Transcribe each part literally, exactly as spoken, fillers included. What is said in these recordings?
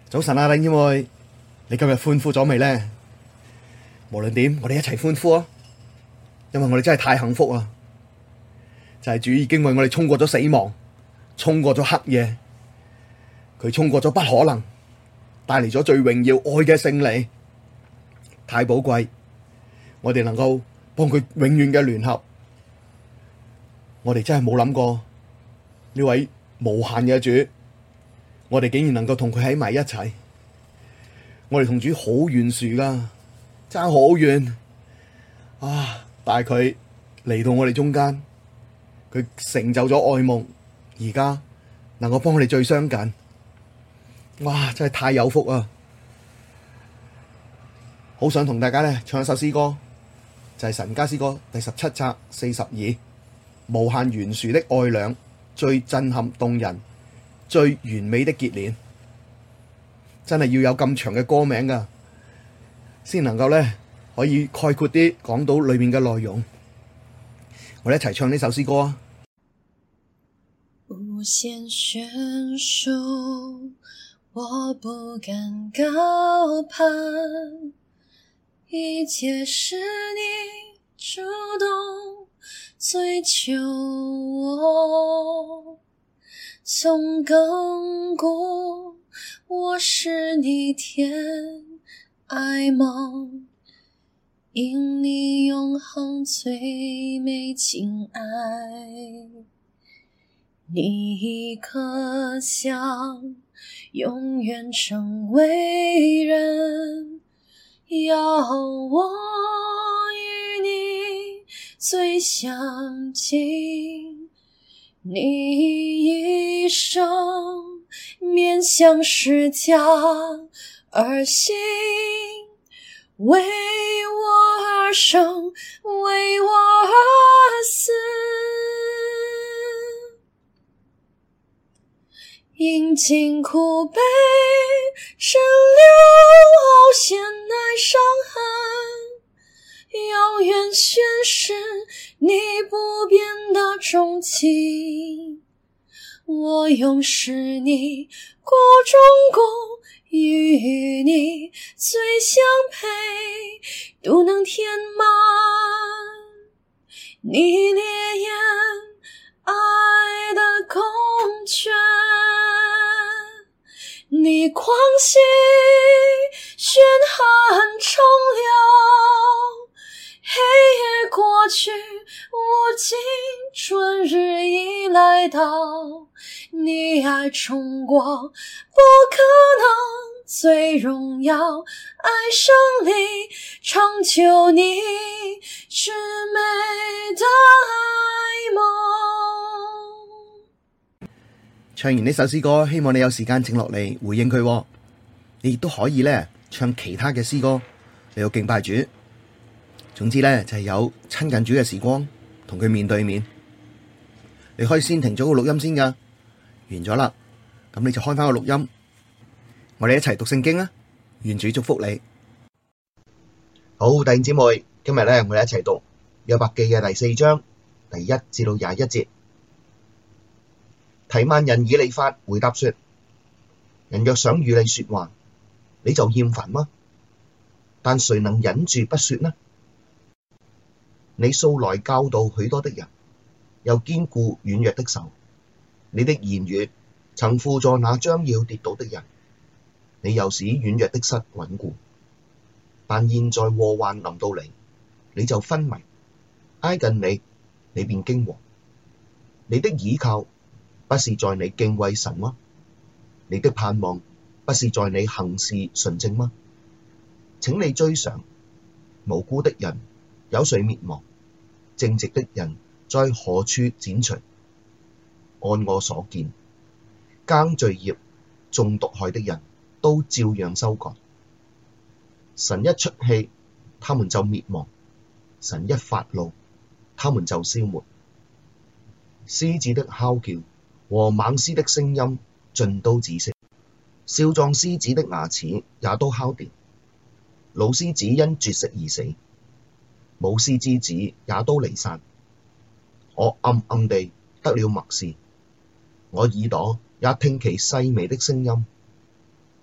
早晨啊，弟兄姊妹，你今日歡呼咗未呢？無論點，我哋一齊歡呼啊！因為我哋真係太幸福啊！就係主已經為我哋衝過咗死亡，衝過咗黑夜，佢衝過咗不可能，帶嚟咗最榮耀愛嘅勝利，太寶貴。我哋能夠幫佢永遠嘅聯合，我哋真係冇諗過呢位無限嘅主，我哋竟然能夠同佢喺埋一齊。我哋同主好懸殊噶，爭好遠啊！但係佢嚟到我哋中間，佢成就咗愛夢，而家能夠幫我哋最相近。哇！真係太有福啊！好想同大家咧唱一首詩歌，就係、是、神家詩歌第十七冊四十二，無限懸殊的愛倆，最震撼動人，最完美的結連。真係要有咁長嘅歌名噶，先能夠咧可以概括啲講到裏面嘅內容。我哋一齊唱呢首詩歌啊！ 無限懸殊，我不敢高攀，一切是你主動追求我，從亙古我是你甜愛夢，因你永恆最美情愛，你一顆想永遠成為人，要我與你最相近，你一生面向十架而行，為我而生，為我而死，因經苦悲蒸餾凹陷愛傷痕，永遠宣示你不變的鍾情。我永是你國中國，與你最相配，都能填滿你烈焰愛的空缺。你狂喜宣喊長流，黑夜過去，如今春日已來到，你愛衝過不可能，最榮耀愛勝利，成就你至美的愛夢。 唱完呢首詩歌，希望你有時間靜落嚟回應佢。你亦都可以咧唱其他嘅詩歌嚟到敬拜主。總之咧就係有親近主嘅時光，同佢面對面。你可以先停咗個錄音先噶，完咗啦，咁你就開翻個錄音，我哋一齊讀聖經啊！願主祝福你。好，弟兄姊妹，今日咧我哋一齊讀約伯記嘅第四章第一至到廿一節。提幔人以利法回答說：人若想與你說話，你就厭煩嗎？但誰能忍住不說呢？你素來教導許多的人，又堅固軟弱的手。你的言語曾扶助那將要跌倒的人，你又使軟弱的膝穩固。但現在禍患臨到你，你就昏迷；挨近你，你便驚惶。你的倚靠不是在你敬畏神嗎？你的盼望不是在你行事純正嗎？請你追想，無辜的人有誰滅亡？正直的人在何處剪除？按我所見，耕罪孽、種毒害的人都照樣收割。神一出氣，他們就滅亡；神一發怒，他們就消沒。獅子的吼叫和猛獅的聲音盡都止息，少壯獅子的牙齒也都烤掉。老獅子因絕食而死，母獅之子也都離散。我暗暗地得了默示，我耳朵也聽其細微的聲音。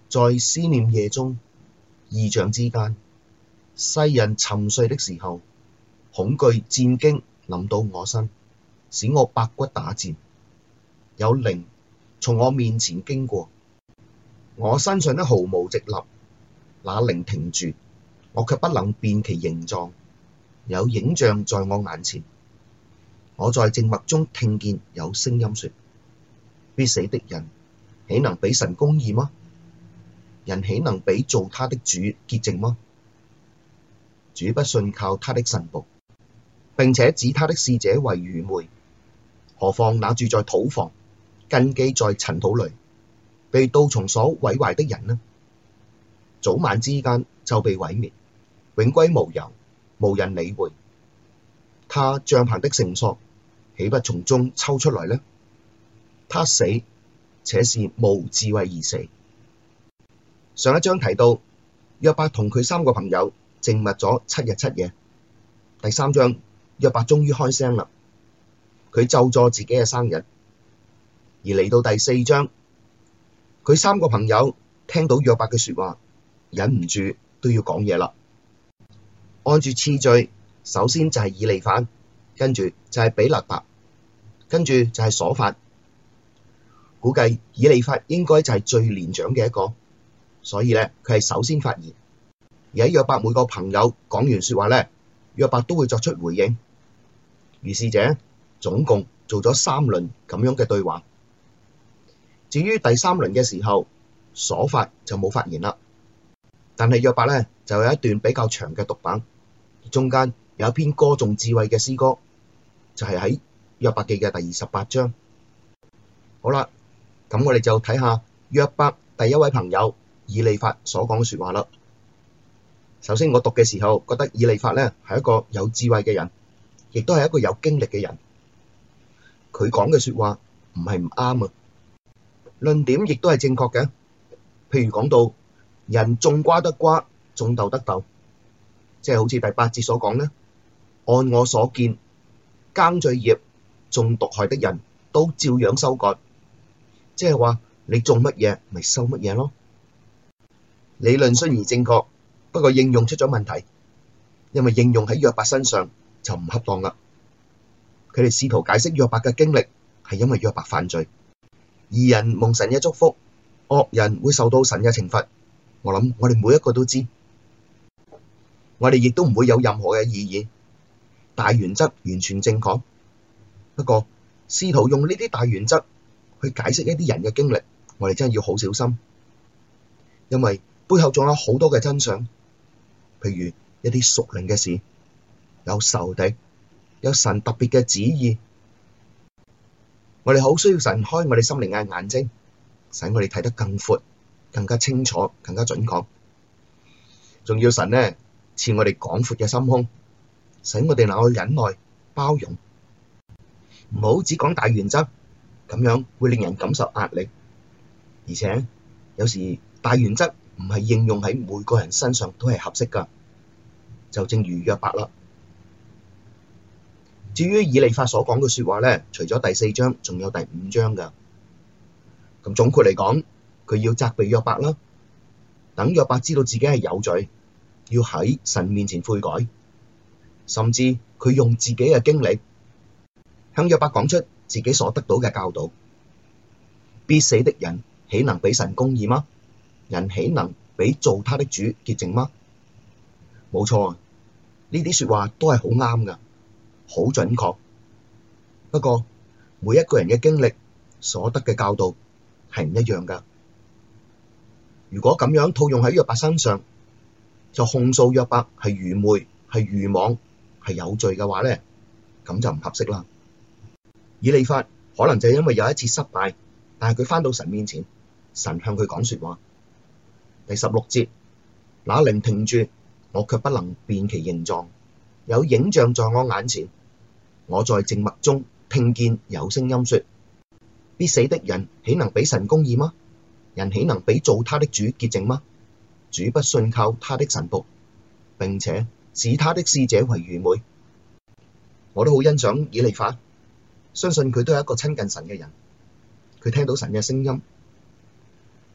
在思念夜中，異象之間，世人沉睡的時候，恐懼戰驚臨到我身，使我百骨打戰。有靈從我面前經過，我身上的毫無直立，那靈停住，我卻不能辨其形狀。有影像在我眼前，我在靜默中聽見有聲音說：必死的人，豈能比神公義嗎？人豈能比造他的主潔淨嗎？主不信靠他的臣僕，並且指他的使者為愚昧。何況那住在土房，根基在塵土裡，被杜蟲所毀壞的人呢？早晚之間就被毀滅，永歸無有，無人理會。他帳棚的繩索，豈不從中抽出來呢？他死，且是無智慧而死。上一章提到約伯同佢三個朋友靜默咗七日七夜。第三章約伯終於開聲啦，佢咒詛自己嘅生日。而嚟到第四章，佢三個朋友聽到約伯嘅說話，忍唔住都要講嘢啦。按住次序，首先就係以利法，跟住就係比勒達，跟住就係瑣法。估計以利法應該就係最年長嘅一個，所以咧佢係首先發言。而喺約伯每個朋友講完說話咧，約伯都會作出回應。如是者總共做咗三輪咁樣嘅對話。至於第三輪嘅時候，瑣法就冇發言啦。但係約伯咧就有一段比較長嘅獨白，中間有一篇歌頌智慧嘅詩歌，就係喺約伯記嘅第二十八章。好啦，咁我哋就睇下約伯第一位朋友以利法所講嘅說話啦。首先我讀嘅時候覺得以利法咧係一個有智慧嘅人，亦都係一個有經歷嘅人。佢講嘅說話唔係唔啱啊，論點亦都係正確嘅。譬如講到人種瓜得瓜，種豆得豆，即係好似第八節所講咧，按我所見，耕罪孽、種毒害的人都照樣收割，即係話你種乜嘢咪收乜嘢咯。理論雖然正確，不過應用出咗問題，因為應用喺約伯身上就唔恰當啦。佢哋試圖解釋約伯嘅經歷係因為約伯犯罪，義人蒙神嘅祝福，惡人會受到神嘅懲罰。我諗我哋每一個都知，我哋亦都唔會有任何嘅異議，大原則完全正確。不過試圖用呢啲大原則去解釋一啲人嘅經歷，我哋真係要好小心，因為背後仲有好多嘅真相，譬如一啲屬靈嘅事，有仇敵，有神特別嘅旨意。我哋好需要神開我哋心靈嘅眼睛，使我哋睇得更闊、更加清楚、更加準確。仲要神呢賜我哋廣闊嘅心胸，使我哋能夠忍耐、包容，唔好只講大原則，咁樣會令人感受壓力。而且有時大原則唔係應用喺每個人身上都係合適噶，就正如約伯啦。至於以利法所講嘅說話咧，除咗第四章，仲有第五章噶。咁總括嚟講，佢要責備約伯啦，等約伯知道自己係有罪，要喺神面前悔改，甚至佢用自己嘅經歷向約伯講出自己所得到嘅教導。必死的人，豈能比神公義嗎？人豈能比造他的主潔淨嗎？冇錯，呢啲說話都係好啱噶，好準確。不過每一個人嘅經歷所得嘅教導係唔一樣噶。如果咁樣套用喺約伯身上，就控訴約伯係愚昧、係愚妄、係有罪嘅話咧，咁就唔合適啦。以利法可能就因為有一次失敗，但係佢返到神面前，神向佢講說話。第十六節，那靈停住，我卻不能辨其形狀，有影像在我眼前，我在靜默中聽見有聲音說：必死的人，豈能比神公義嗎？人豈能比造他的主潔淨嗎？主不信靠他的臣僕，並且使他的使者為愚昧。我都好欣賞以利法，相信佢都係一個親近神嘅人。佢聽到神嘅聲音，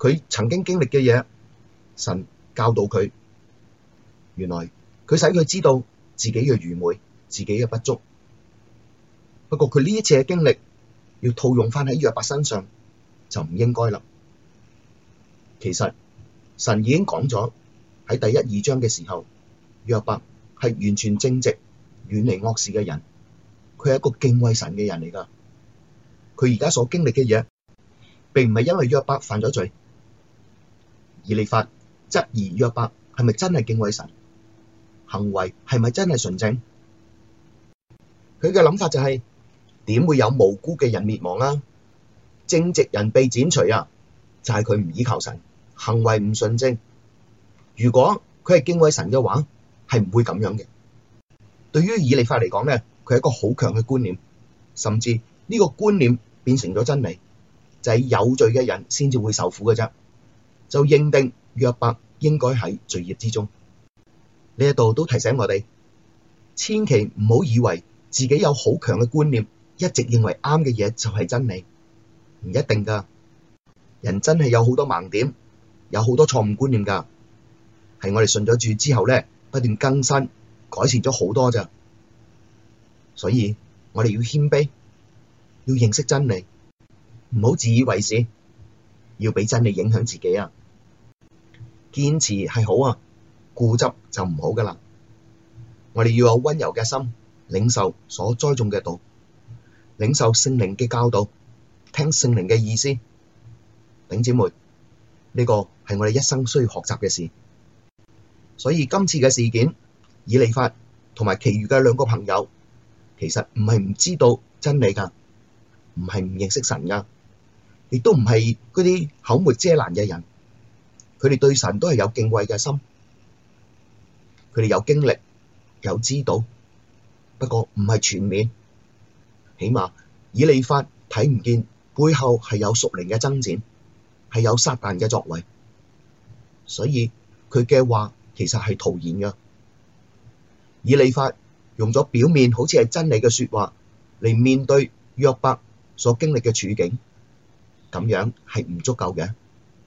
佢曾經經歷嘅嘢，神教導佢，原來佢使佢知道自己嘅愚昧、自己嘅不足。不過佢呢一次嘅經歷要套用翻喺約伯身上就唔應該啦。其實神已經講咗喺第一二章嘅時候，約伯係完全正直、遠離惡事嘅人，佢係一個敬畏神嘅人嚟㗎。佢而家所經歷嘅嘢，並唔係因為約伯犯咗罪。以利法質疑約伯係咪真係敬畏神，行為係咪真係純正？佢嘅諗法就係，點會有無辜嘅人滅亡啊？正直人被剪除啊，就係佢唔依靠神，行為唔純正。如果佢係敬畏神嘅話，係唔會咁樣嘅。對於以利法嚟講咧，佢係一個好強嘅觀念，甚至呢個觀念變成咗真理，就係有罪嘅人先至會受苦嘅啫。就認定約伯應該喺罪孽之中。呢一度都提醒我哋，千祈唔好以為自己有好強嘅觀念，一直認為啱嘅嘢就係真理，唔一定噶。人真係有好多盲點，有好多錯誤觀念噶，係我哋信咗主之後咧，不斷更新改善咗好多咋。所以我哋要謙卑，要認識真理，唔好自以為是，要俾真理影響自己啊。堅持係好啊，固執就唔好噶啦。我哋要有溫柔嘅心，領受所栽種嘅道，領受聖靈嘅教導，聽聖靈嘅意思。弟兄姊妹，呢個係我哋一生需要學習嘅事。所以今次嘅事件，以利法同埋其餘嘅兩個朋友，其實唔係唔知道真理噶，唔係唔認識神噶，亦都唔係嗰啲口沒遮攔嘅人。佢哋對神都係有敬畏嘅心，佢哋有經歷，有知道，不過唔係全面。起碼以利法睇唔見背後係有屬靈嘅爭戰，係有撒但嘅作為，所以佢嘅話其實係徒然嘅。以利法用咗表面好似係真理嘅說話嚟面對約伯所經歷嘅處境，咁樣係唔足夠嘅。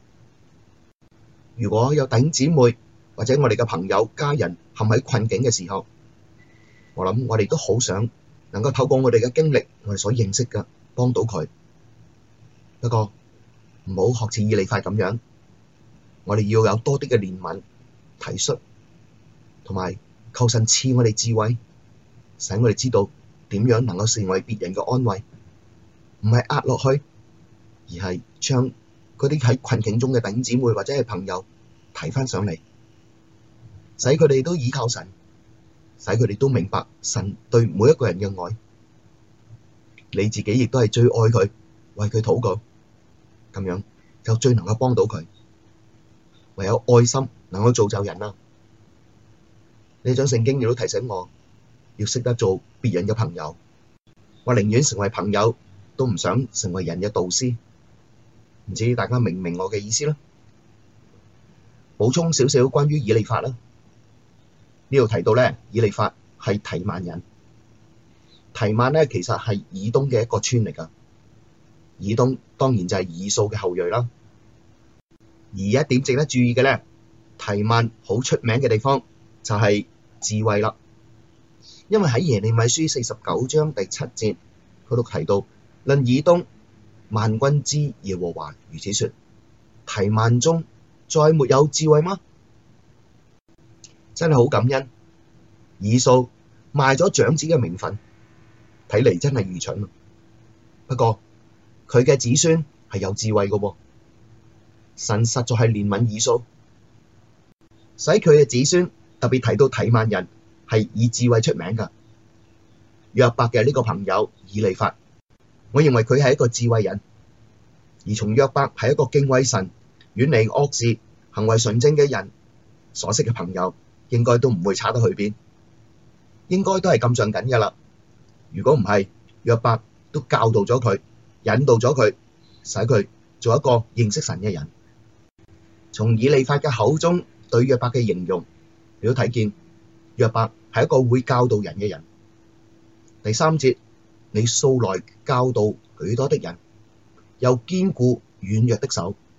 如果有弟兄姊妹或者我哋嘅朋友家人陷喺困境嘅時候，我諗我哋都好想能夠透過我哋嘅經歷，我哋所認識嘅幫到佢。不過唔好學似以利法咁樣，我哋要有多啲嘅憐憫、體恤，同埋求神賜我哋智慧，使我哋知道點樣能夠成為別人嘅安慰，唔係壓落去，而係將嗰啲喺困境中嘅弟兄姊妹或者係朋友提返上嚟，使佢哋都倚靠神，使佢哋都明白神對每一個人嘅愛。你自己亦都係最愛佢，為佢禱告，咁樣就最能夠幫到佢。唯有愛心能夠造就人啊！呢張聖經亦都提醒我，要識得做別人嘅朋友。我寧願成為朋友，都唔想成為人嘅導師。唔知大家明唔明我嘅意思啦？補充少少關於以利法啦。呢度提到咧，以利法係提曼人。提曼咧其實係以東嘅一個村嚟㗎。以東當然就係以掃嘅後裔啦。而一點值得注意嘅咧，提曼好出名嘅地方就係智慧啦。因為喺耶利米書四十九章第七節，佢都提到論以東，萬軍之耶和華如此說：提曼中再沒有智慧嗎？真係好感恩，以掃賣咗長子嘅名分，睇嚟真係愚蠢。不過佢嘅子孫係有智慧嘅喎，神實在係憐憫以掃，使佢嘅子孫特別提到提曼人係以智慧出名㗎。約伯嘅呢個朋友以利法，我認為佢係一個智慧人，而從約伯係一個敬畏神、遠離惡事、行為純正嘅人所識嘅朋友，應該都唔會差得去邊，應該都係咁上緊㗎啦。如果唔係，約伯都教導咗佢，引導咗佢，使佢做一個認識神嘅人。從以利法嘅口中對約伯嘅形容，你都睇見約伯係一個會教導人嘅人。第三節，你素來教導許多的人，又堅固軟弱的手，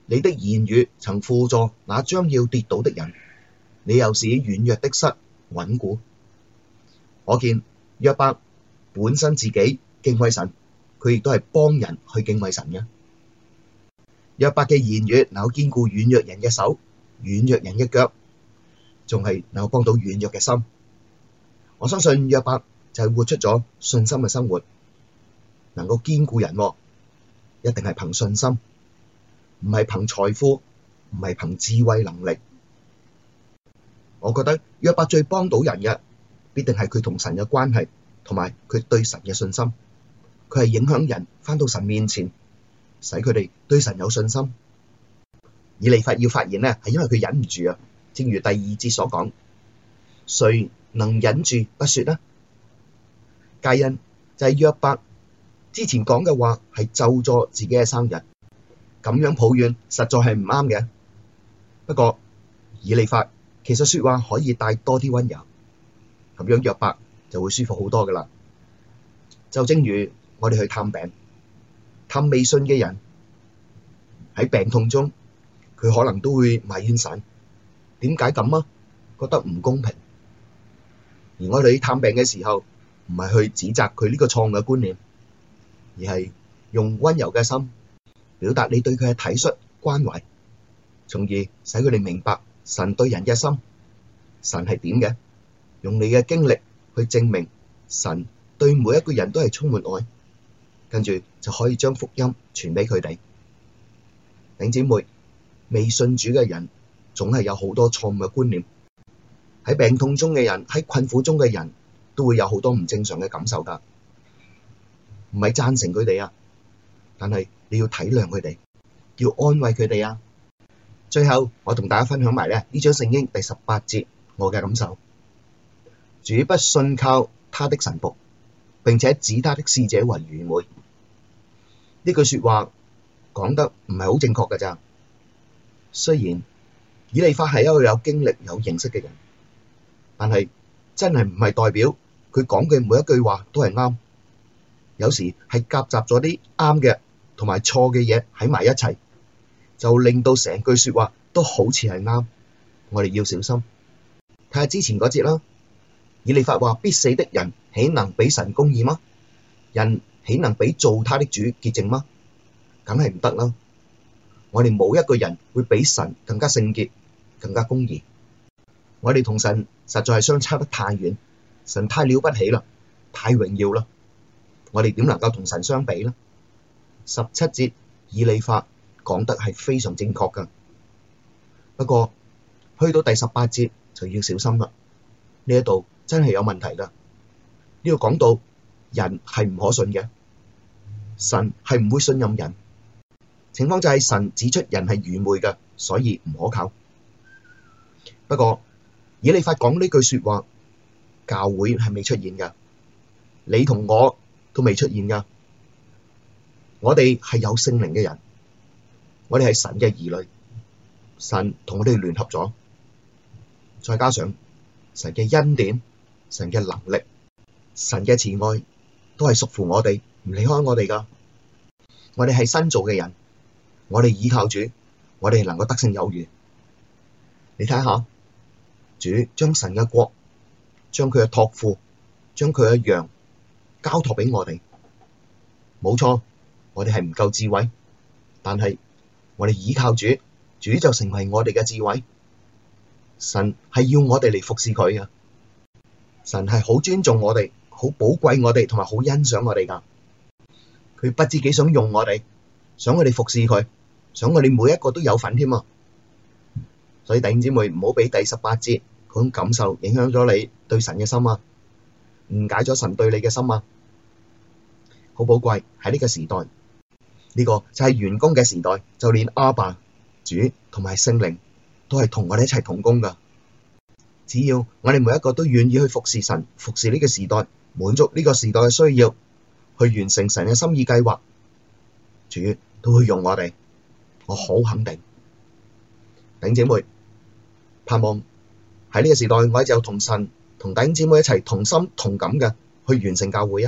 你的言語曾輔助那將要跌倒的人，你又使軟弱的膝穩固。可見約伯本身自己敬畏神，佢亦都係幫人去敬畏神嘅。約伯嘅言語能夠堅固軟弱人嘅手、軟弱人嘅腳，仲係能夠幫到軟弱嘅心。我相信約伯就係活出咗信心嘅生活，能夠堅固人，一定係憑信心，唔係憑財富，唔係憑智慧能力。我覺得約伯最幫到人嘅，必定係佢同神嘅關係，同埋佢對神嘅信心。佢係影響人返到神面前，使佢哋對神有信心。以利法要發言呢，係因為佢忍唔住啊。正如第二節所講，誰能忍住不說呢？皆因就係約伯之前講嘅話係咒詛自己嘅生日，咁樣抱怨實在係唔啱嘅。不過以利法其實說話可以帶多啲溫柔，咁樣約伯就會舒服好多噶啦。就正如我哋去探病，探未信嘅人喺病痛中，佢可能都會埋怨神，點解咁啊？覺得唔公平。而我哋去探病嘅時候，唔係去指責佢呢個錯誤嘅觀念，而係用溫柔嘅心表達你對佢嘅體恤關懷，從而使佢哋明白神對人嘅心，神係點嘅，用你嘅經歷去證明神對每一個人都係充滿愛，跟住就可以將福音傳俾佢哋。弟兄姊妹，未信主嘅人總係有好多錯誤嘅觀念，喺病痛中嘅人，喺困苦中嘅人都會有好多唔正常嘅感受㗎，唔係贊成佢哋啊，但係你要體諒佢哋，要安慰佢哋啊。最後我同大家分享埋咧呢章聖經第十八節我嘅感受：主不信靠他的臣僕，並且指他的使者為愚昧。呢句說話講得唔係好正確㗎咋。雖然以利法係一個有經歷有認識嘅人，但係真係唔係代表佢講嘅每一句話都係啱。有時係夾雜咗啲啱嘅同埋錯嘅嘢喺埋一齊，就令到成句說話都好似係啱。我哋要小心。睇下之前嗰節啦，以利法話：必死的人豈能比神公義嗎？人豈能比造他的主潔淨嗎？梗係唔得啦。我哋冇一個人會比神更加聖潔、更加公義。我哋同神實在係相差得太遠，神太了不起啦，太榮耀啦。我哋點能夠同神相比呢？十七節以利法講得係非常正確噶，不過去到第十八節就要小心啦。呢一度真係有問題噶。呢度講到人係唔可信嘅，神係唔會信任人。情況就係神指出人係愚昧嘅，所以唔可靠。不過以利法講呢句說話，教會係未出現噶，你同我都未出現噶。我哋係有聖靈嘅人，我哋係神嘅兒女，神同我哋聯合咗，再加上神嘅恩典、神嘅能力、神嘅慈愛，都係屬乎我哋，唔離開我哋噶。我哋係新造嘅人。我哋倚靠主，我哋能夠得勝有餘。你睇下，主將神嘅國，將佢嘅託付，將佢嘅羊交託俾我哋。冇錯，我哋係唔夠智慧，但係我哋倚靠主，主就成為我哋嘅智慧。神係要我哋嚟服侍佢嘅，神係好尊重我哋，好寶貴我哋，同埋好欣賞我哋噶。佢不知幾想用我哋。想我哋服侍佢，想我哋每一個都有份添啊！所以弟兄姊妹唔好俾第十八節嗰種感受影響咗你對神嘅心啊，誤解咗神對你嘅心啊！好寶貴喺呢個時代，呢個就係員工嘅時代，就連阿爸、主同埋聖靈都係同我哋一齊同工噶。只要我哋每一個都願意去服侍神，服侍呢個時代，滿足呢個時代嘅需要，去完成神嘅心意計劃，主都會用我哋，我好肯定。弟兄姊妹，盼望喺呢個時代，我哋就同神、同弟兄姊妹一齊同心同感嘅去完成教會啊！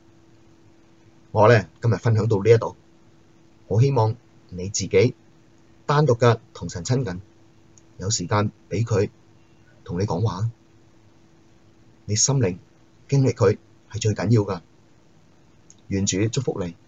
我咧今日分享到呢一度，好希望你自己單獨嘅同神親近，有時間畀佢同你講話，你心靈經歷佢係最緊要噶。願主祝福你。